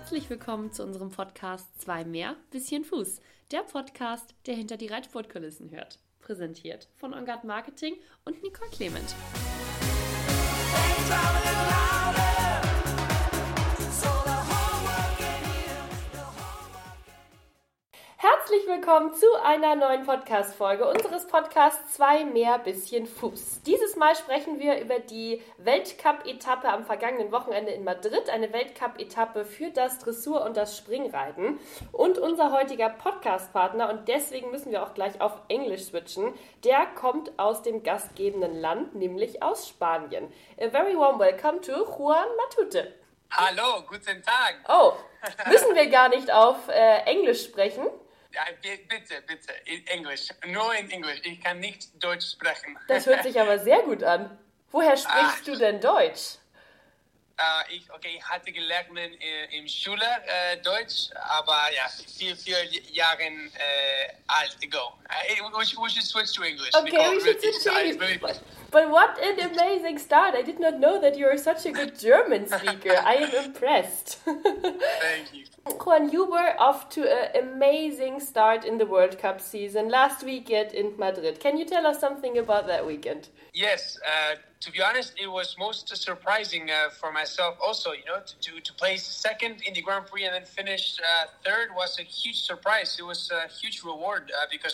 Herzlich willkommen zu unserem Podcast 2 mehr, bisschen Fuß. Der Podcast, der hinter die Reitsportkulissen hört. Präsentiert von OnGuard Marketing und Nicole Clement. Herzlich willkommen zu einer neuen Podcast-Folge unseres Podcasts 2 mehr, bisschen Fuß. Dieses Mal sprechen wir über die Weltcup-Etappe am vergangenen Wochenende in Madrid, eine Weltcup-Etappe für das Dressur- und das Springreiten. Und unser heutiger Podcast-Partner, und deswegen müssen wir auch gleich auf Englisch switchen, der kommt aus dem gastgebenden Land, nämlich aus Spanien. A very warm welcome to Juan Matute. Hallo, guten Tag. Oh, müssen wir gar nicht auf Englisch sprechen? Ja, bitte, in Englisch. Nur in Englisch. Ich kann nicht Deutsch sprechen. Das hört sich aber sehr gut an. Woher sprichst du denn Deutsch? Ich hatte gelernt in Schule Deutsch, aber ja, viel Jahren alt ago. We should switch to English. Okay, we should switch to English. But what an amazing start. I did not know that you are such a good German speaker. I am impressed. Thank you. Juan, you were off to an amazing start in the World Cup season last weekend in Madrid. Can you tell us something about that weekend? Yes, to be honest, it was most surprising for myself also, to place second in the Grand Prix and then finish third was a huge surprise. It was a huge reward because,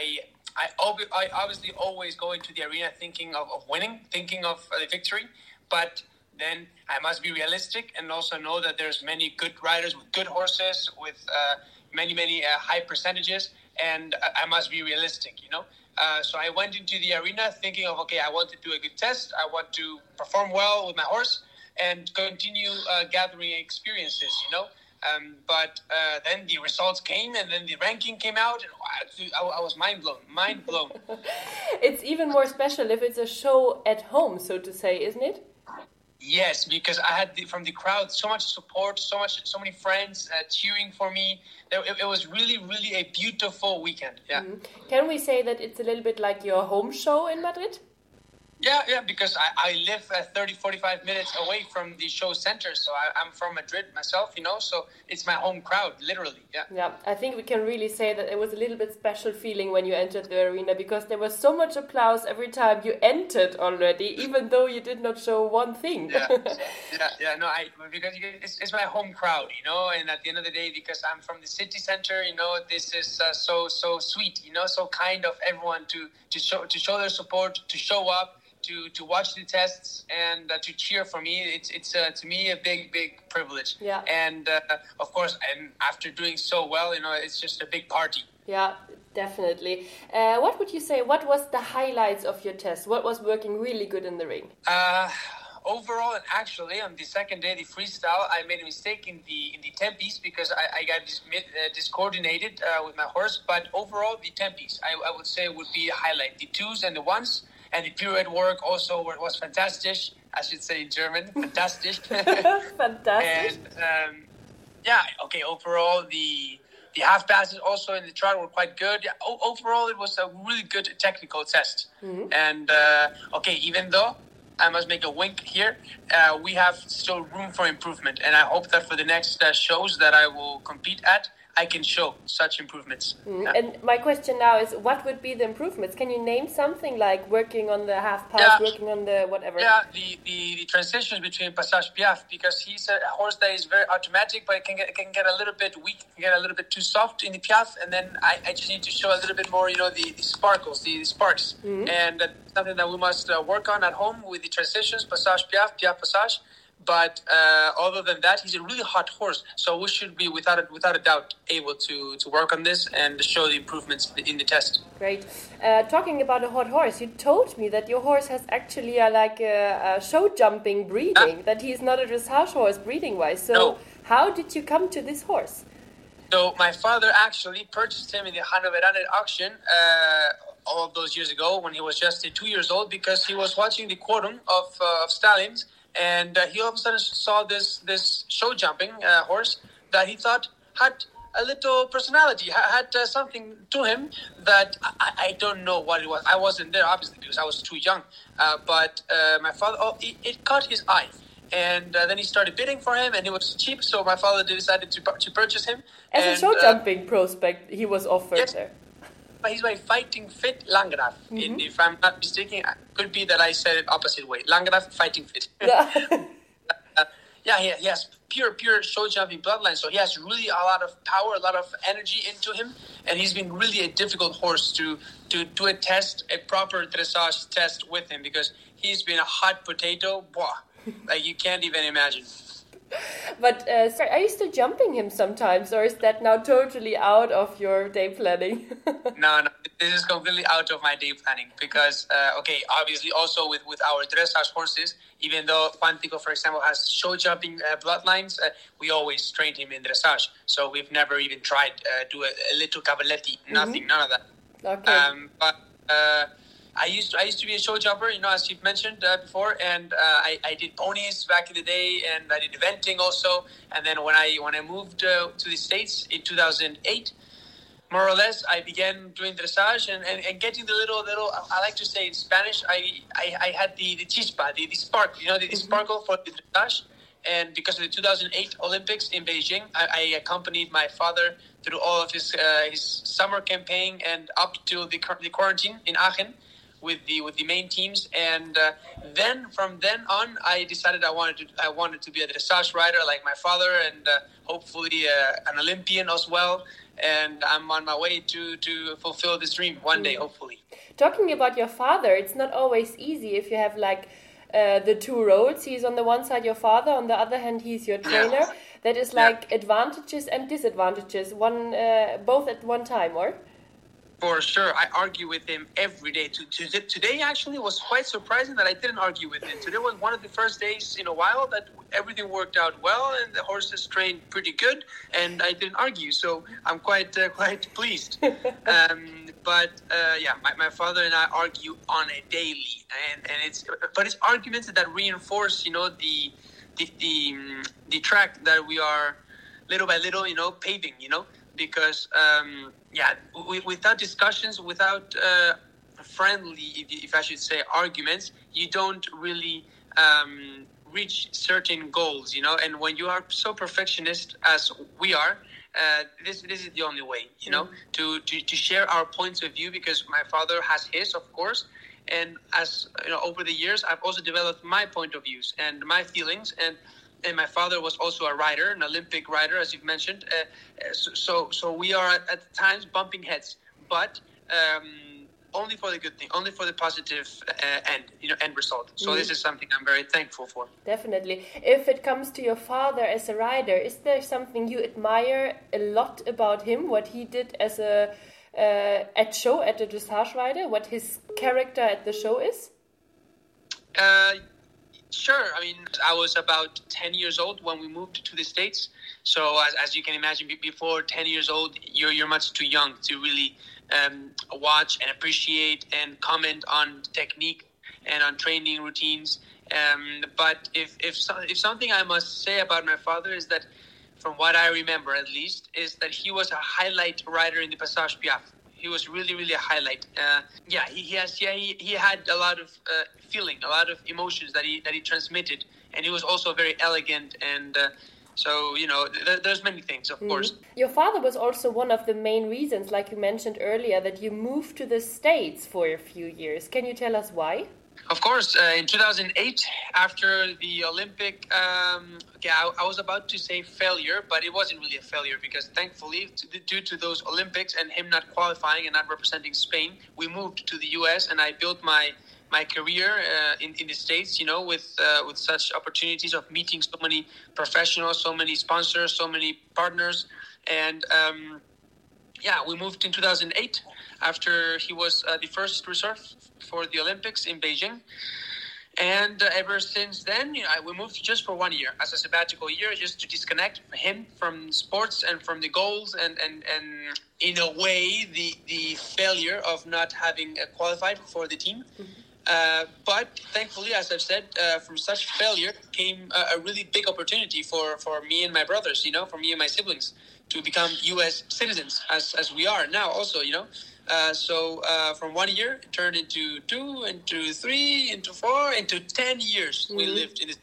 I obviously always go into the arena thinking of winning, thinking of the victory, but then I must be realistic and also know that there's many good riders with good horses, with many high percentages, and I must be realistic, So I went into the arena thinking of, I want to do a good test, I want to perform well with my horse and continue gathering experiences, But then the results came and then the ranking came out and I was mind blown. It's even more special if it's a show at home, so to say, isn't it? Yes, because I had from the crowd so much support, so many friends cheering for me. It was really a beautiful weekend. Yeah. Mm-hmm. Can we say that it's a little bit like your home show in Madrid? Yeah, because I live 30-45 minutes away from the show center, so I'm from Madrid myself, so it's my home crowd, literally, yeah. Yeah, I think we can really say that it was a little bit special feeling when you entered the arena, because there was so much applause every time you entered already, even though you did not show one thing. Because it's my home crowd, and at the end of the day, because I'm from the city center, this is so sweet, so kind of everyone to show their support, to show up, to watch the tests and to cheer for me. It's to me a big privilege. Yeah. And of course, and after doing so well, it's just a big party. Yeah, definitely. What would you say? What was the highlights of your test? What was working really good in the ring? Overall, and actually on the second day, the freestyle, I made a mistake in the tempies because I got discoordinated with my horse. But overall, the tempies, I would say, would be a highlight. The twos and the ones. And the pirouette work also was fantastic. I should say in German, fantastic. Fantastic. And overall the half passes also in the trot were quite good. Yeah, overall it was a really good technical test. Mm-hmm. And even though I must make a wink here, we have still room for improvement. And I hope that for the next shows that I will compete at, I can show such improvements. Mm. Yeah. And my question now is, what would be the improvements? Can you name something like working on the half pass, working on the whatever? Yeah, the transitions between Passage Piaf, because he's a horse that is very automatic, but it can get a little bit weak, can get a little bit too soft in the Piaf, and then I just need to show a little bit more, the sparkles, the sparks. Mm-hmm. And that's something that we must work on at home with the transitions, Passage Piaf, Piaf Passage. But other than that, he's a really hot horse. So we should be, without a doubt, able to work on this and show the improvements in the test. Great. Talking about a hot horse, you told me that your horse has actually a show jumping breeding, that he's not a dressage horse breeding-wise. So no. How did you come to this horse? So my father actually purchased him in the Hannoveraner auction all of those years ago when he was just 2 years old, because he was watching the quorum of stallions. And he all of a sudden saw this show jumping horse that he thought had a little personality, had something to him that I don't know what it was. I wasn't there, obviously, because I was too young. But my father, it caught his eye. And then he started bidding for him, and it was cheap, so my father decided to purchase him. As a show jumping prospect, he was offered there. But he's by Fighting Fit Landgraf. If I'm not mistaken, it could be that I said it opposite way. Landgraf Fighting Fit. He has pure show jumping bloodline, so he has really a lot of power, a lot of energy into him, and he's been really a difficult horse to do a proper dressage test with him, because he's been a hot potato, like you can't even imagine. But are you still jumping him sometimes, or is that now totally out of your day planning? No, this is completely out of my day planning, because, obviously also with our dressage horses, even though Quantico, for example, has show jumping bloodlines, we always trained him in dressage. So we've never even tried do a little cavaletti, nothing, none of that. Okay. But I used to be a show jumper, as you've mentioned before, and I did ponies back in the day, and I did eventing also. And then when I moved to the States in 2008, more or less, I began doing dressage and getting the little. I like to say in Spanish, I had the chispa, the spark, the sparkle for the dressage. And because of the 2008 Olympics in Beijing, I accompanied my father through all of his summer campaign and up to the quarantine in Aachen with the main teams. And then from then on, I decided I wanted to be a dressage rider like my father, and hopefully an Olympian as well. And I'm on my way to fulfill this dream one day, hopefully. Talking about your father, it's not always easy if you have the two roles. He's on the one side your father, on the other hand he's your trainer. Yeah. That is advantages and disadvantages, both at one time, or? For sure. I argue with him every day. Today actually was quite surprising that I didn't argue with him. Today was one of the first days in a while that everything worked out well and the horses trained pretty good and I didn't argue. So I'm quite pleased. But my father and I argue on a daily, and it's arguments that reinforce, the track that we are little by little, paving, because without discussions, without friendly, if I should say, arguments, you don't really reach certain goals, and when you are so perfectionist as we are, this is the only way, to share our points of view, because my father has his, of course, and as over the years, I've also developed my point of views and my feelings, and my father was also a rider, an Olympic rider, as you've mentioned. So we are at times bumping heads, but only for the good thing, only for the positive end result. So this is something I'm very thankful for. Definitely. If it comes to your father as a rider, is there something you admire a lot about him? What he did as a dressage rider? What his character at the show is? Sure. I mean, I was about 10 years old when we moved to the States. So as you can imagine, before 10 years old, you're much too young to really watch and appreciate and comment on technique and on training routines. But if something I must say about my father is that, from what I remember at least, is that he was a highlight rider in the Passage Piaf. He was really, really a highlight. He had a lot of feeling, a lot of emotions that he transmitted, and he was also very elegant. And so, there's many things, of course. Your father was also one of the main reasons, like you mentioned earlier, that you moved to the States for a few years. Can you tell us why? Of course, in 2008, after the Olympic, I was about to say failure, but it wasn't really a failure, because thankfully, due to those Olympics and him not qualifying and not representing Spain, we moved to the U.S. and I built my career in the States, with such opportunities of meeting so many professionals, so many sponsors, so many partners. And we moved in 2008 after he was the first reserve for the Olympics in Beijing. And ever since then, we moved just for 1 year as a sabbatical year, just to disconnect him from sports and from the goals and in a way, the failure of not having qualified for the team. But thankfully, as I've said, from such failure came a really big opportunity for me and my brothers, for me and my siblings, to become U.S. citizens, as we are now also, So from 1 year, it turned into 2, into 3, into 4, into 10 years we lived in this.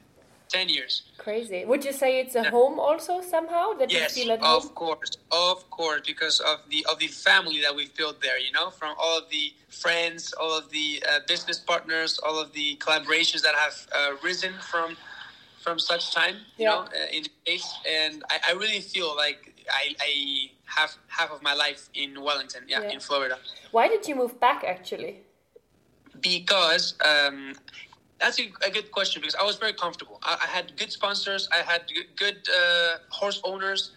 10 years. Crazy. Would you say it's a home also somehow that you feel at home? Of course, because of the family that we've built there. From all of the friends, all of the business partners, all of the collaborations that have risen from such time. In the space, and I really feel like I have half of my life in Wellington, in Florida. Why did you move back actually? Because that's a good question, because I was very comfortable. I had good sponsors, I had good horse owners,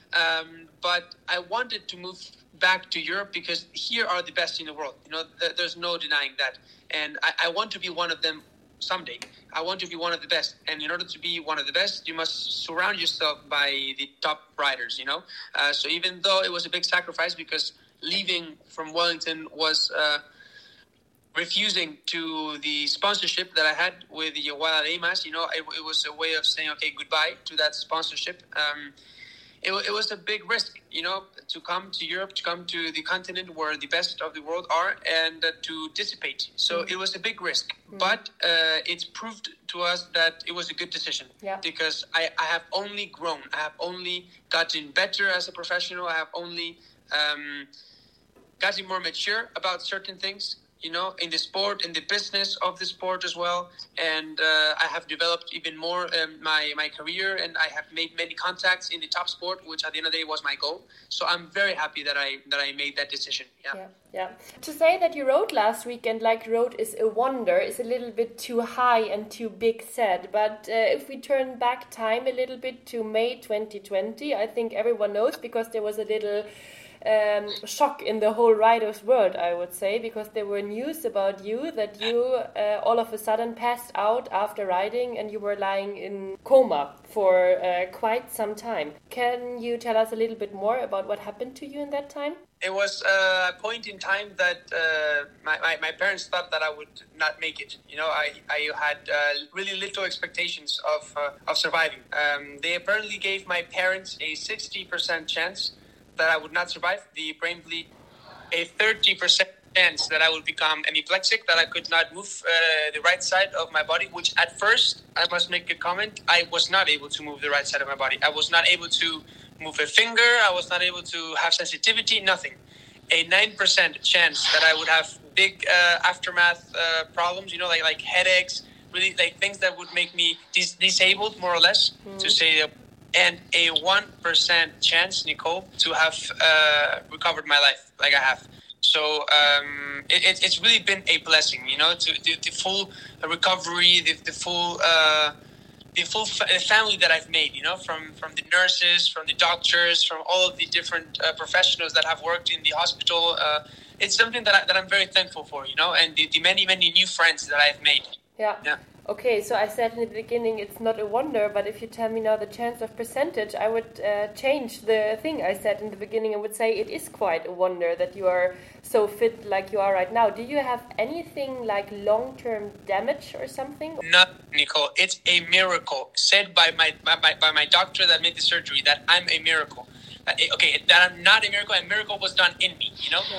but I wanted to move back to Europe because here are the best in the world. There's no denying that, and I want to be one of them someday. I want to be one of the best, and in order to be one of the best, you must surround yourself by the top riders. So even though it was a big sacrifice, because leaving from Wellington was refusing to the sponsorship that I had with the Guadalajara, it was a way of saying, okay, goodbye to that sponsorship. It was a big risk, to come to Europe, to come to the continent where the best of the world are, and to dissipate. So it was a big risk, but it's proved to us that it was a good decision, because I have only grown. I have only gotten better as a professional. I have only gotten more mature about certain things, in the sport, in the business of the sport as well. And I have developed even more my career, and I have made many contacts in the top sport, which at the end of the day was my goal. So I'm very happy that I made that decision. Yeah. To say that you rode last weekend like road is a wonder is a little bit too high and too big said. But if we turn back time a little bit to May 2020, I think everyone knows, because there was a little shock in the whole riders world, I would say, because there were news about you that you all of a sudden passed out after riding and you were lying in coma for quite some time. Can you tell us a little bit more about what happened to you in that time? It was a point in time that my parents thought that I would not make it. I had really little expectations of surviving. They apparently gave my parents a 60% chance that I would not survive the brain bleed, a 30% chance that I would become hemiplegic, that I could not move the right side of my body, which at first, I must make a comment, I was not able to move the right side of my body. I was not able to move a finger, I was not able to have sensitivity, nothing. A 9% chance that I would have big aftermath problems, like headaches, really like things that would make me disabled, more or less, to say. And a 1% chance, Nicole, to have recovered my life like I have. So it's really been a blessing, to the full recovery, the full family that I've made, from the nurses, from the doctors, from all of the different professionals that have worked in the hospital. It's something that I'm very thankful for, and the many, many new friends that I've made. Yeah. Okay, so I said in the beginning it's not a wonder, but if you tell me now the chance of percentage, I would change the thing I said in the beginning and would say it is quite a wonder that you are so fit like you are right now. Do you have anything like long-term damage or something? No, Nicole, it's a miracle said by my doctor that made the surgery that I'm a miracle. Okay, that I'm not a miracle was done in me,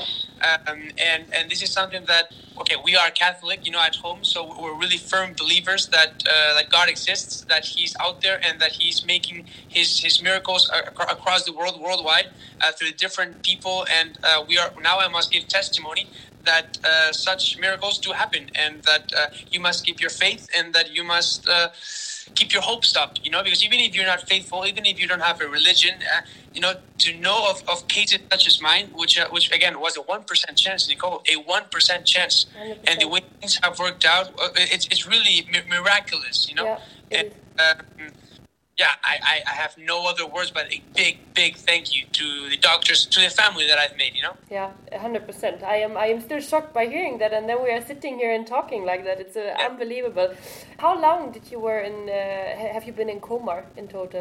and this is something that, okay, we are Catholic, at home, so we're really firm believers that God exists, that He's out there, and that He's making His miracles across the world, worldwide, through different people, and I must give testimony that such miracles do happen, and that you must keep your faith, and that you must keep your hopes up, because even if you're not faithful, even if you don't have a religion, to know of cases such as mine, which again was a 1% chance, Nicole, a 1% chance, 100%. And the way things have worked out, it's really miraculous, Yeah, I have no other words but a big thank you to the doctors, to the family that I've made, Yeah, 100%. I am still shocked by hearing that, and then we are sitting here and talking like that. It's unbelievable. How long did you have you been in coma in total?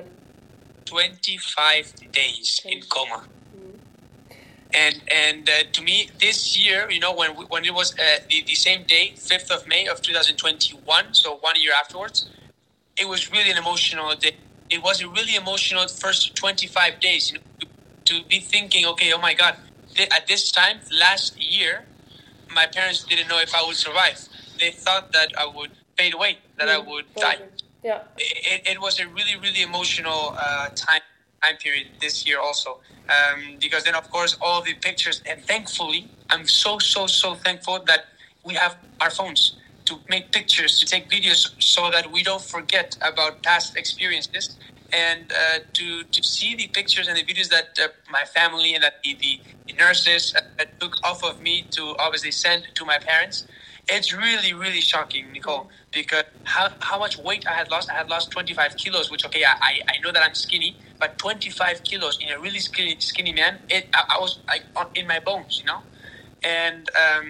25 days in coma. And to me, this year, when it was the same day, 5th of May of 2021, so 1 year afterwards, it was really an emotional day. It was a really emotional first 25 days, to be thinking, okay, oh my God, at this time, last year, my parents didn't know if I would survive. They thought that I would fade away, that I would die. Yeah. It was a really, really emotional time period this year also. Because then, of course, all the pictures, and thankfully, I'm so thankful that we have our phones to make pictures, to take videos, so that we don't forget about past experiences, and to see the pictures and the videos that my family and that the nurses took off of me to obviously send to my parents. It's really, really shocking, Nicole, because how much weight I had lost. I had lost 25 kilos, which, okay, I know that I'm skinny, but 25 kilos in a really skinny man, I was like in my bones, you know? And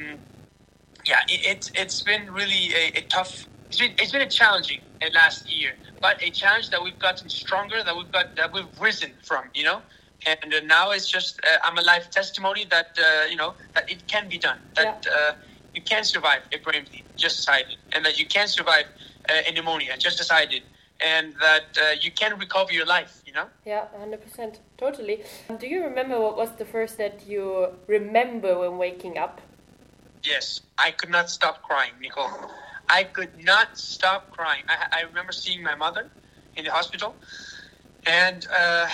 it's been really a tough, it's been a challenging last year, but a challenge that we've gotten stronger, that we've risen from, you know? And now it's just, I'm a life testimony that, that it can be done, that you can survive a brain bleed, just as I did, and that you can survive a pneumonia, just as I did, and that you can recover your life, you know? Yeah, 100%, totally. Do you remember what was the first that you remember when waking up? Yes, I could not stop crying, Nicole. I could not stop crying. I remember seeing my mother in the hospital, and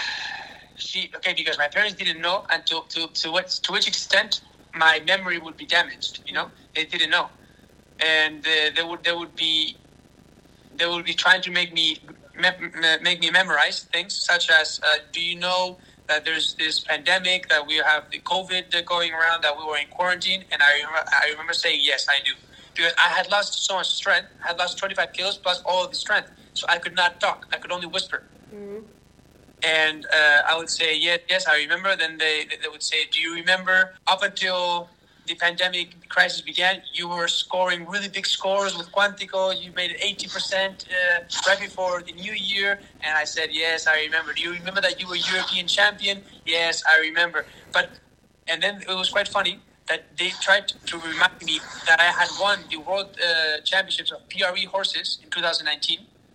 because my parents didn't know until to which extent my memory would be damaged, you know? They didn't know. And they would be trying to make me memorize things such as, do you know that there's this pandemic, that we have the COVID going around, that we were in quarantine? And I remember saying, yes, I do. Because I had lost so much strength. I had lost 25 kilos plus all of the strength. So I could not talk. I could only whisper. Mm-hmm. And I would say, yes, I remember. Then they would say, do you remember up until the pandemic crisis began, you were scoring really big scores with Quantico. You made it 80% right before the new year. And I said, yes, I remember. Do you remember that you were European champion? Yes, I remember. And then it was quite funny that they tried to remind me that I had won the World Championships of PRE horses in 2019.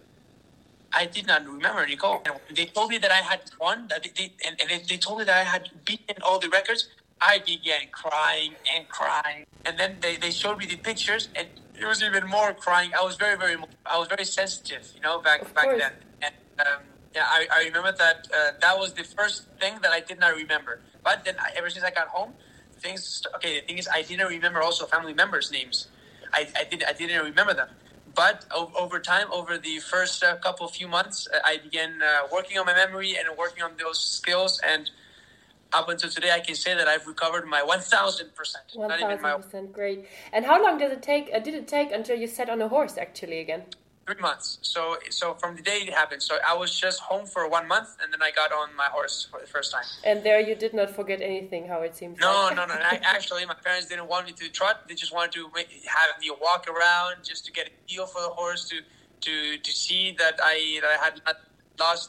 I did not remember, Nicole. And they told me that I had won, they told me that I had beaten all the records. I began crying. And then they showed me the pictures, and there was even more crying. I was very sensitive, you know, back then. And I remember that that was the first thing that I did not remember. But then ever since I got home, the thing is, I didn't remember also family members' names. I didn't remember them. But over time, over the first few months, I began working on my memory and working on those skills. And up until today, I can say that I've recovered my 1,000%. 1,000%, great. And how long did it take until you sat on a horse actually again? 3 months. So from the day it happened. So I was just home for 1 month, and then I got on my horse for the first time. And there you did not forget anything, how it seems. No. Actually, my parents didn't want me to trot. They just wanted to have me walk around, just to get a feel for the horse, to see that I had not lost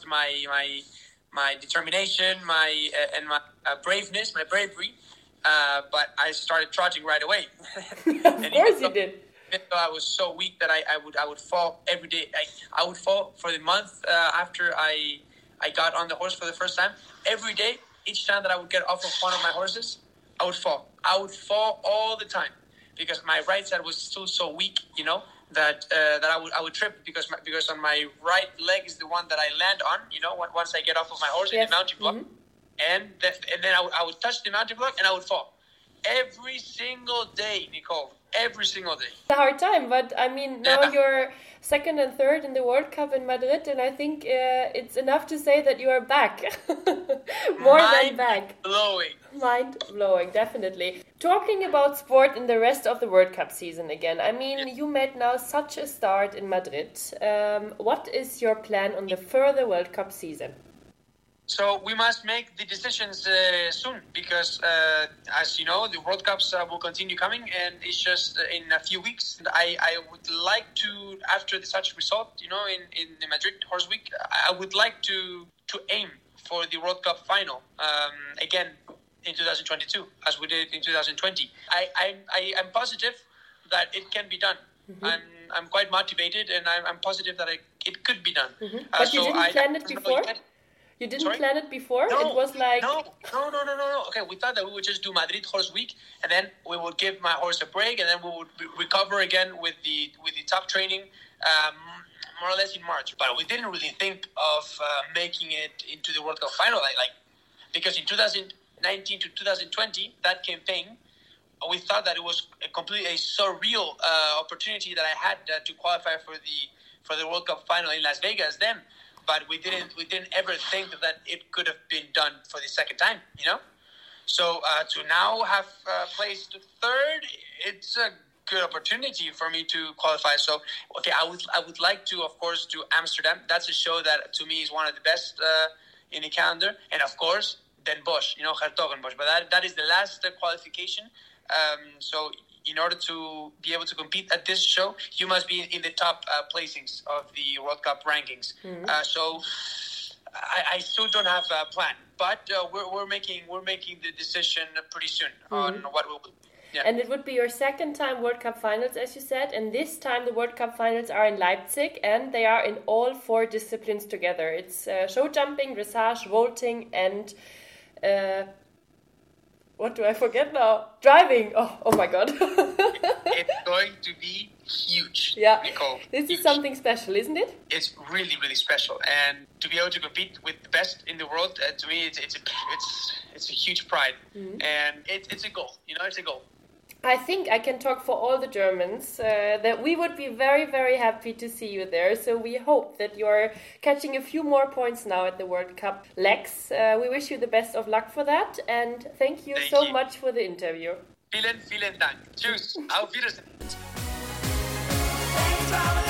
my determination, my braveness, my bravery. But I started trotting right away. Of course you did. I was so weak that I would fall every day. I would fall for the month after I got on the horse for the first time. Every day, each time that I would get off of one of my horses, I would fall. I would fall all the time because my right side was still so weak, you know, that I would trip because on my right leg is the one that I land on, you know, once I get off of my horse in the mountain block, and then I would touch the mountain block and I would fall every single day, Nicole. Every single day. It's a hard time, but I mean, now you're second and third in the World Cup in Madrid, and I think it's enough to say that you are back. More than back. Mind-blowing, definitely. Talking about sport in the rest of the World Cup season again, I mean, you made now such a start in Madrid. What is your plan on the further World Cup season? So we must make the decisions soon because, as you know, the World Cups will continue coming, and it's just in a few weeks. And I would like to, after such result, you know, in the Madrid Horse Week, I would like to aim for the World Cup final again in 2022, as we did in 2020. I'm positive that it can be done. Mm-hmm. I'm quite motivated, and I'm positive that it could be done. Mm-hmm. But you didn't plan it before? You didn't plan it before? No, it was like... No. Okay, we thought that we would just do Madrid Horse Week, and then we would give my horse a break, and then we would recover again with the top training. more or less in March. But we didn't really think of making it into the World Cup final, because in 2019 to 2020, that campaign, we thought that it was a completely surreal opportunity that I had to qualify for the World Cup final in Las Vegas then. But we didn't ever think that it could have been done for the second time, So to now have placed third, it's a good opportunity for me to qualify. So, okay, I would like to, of course, to Amsterdam. That's a show that to me is one of the best in the calendar. And of course, Den Bosch, Hertogenbosch. But that is the last qualification. So in order to be able to compete at this show, you must be in the top placings of the World Cup rankings. Mm-hmm. So I still don't have a plan, but we're making the decision pretty soon on what we'll do. Yeah. And it would be your second time World Cup finals, as you said, and this time the World Cup finals are in Leipzig, and they are in all 4 disciplines together. It's show jumping, dressage, vaulting, and what do I forget now? Driving. Oh my God. It's going to be huge. Yeah, Nicole. This is something special, isn't it? It's really, really special, and to be able to compete with the best in the world, to me, it's a huge pride, and it's a goal. It's a goal. I think I can talk for all the Germans that we would be very, very happy to see you there. So we hope that you're catching a few more points now at the World Cup legs. We wish you the best of luck for that, and thank you so much for the interview. Vielen Dank. Tschüss. Auf Wiedersehen.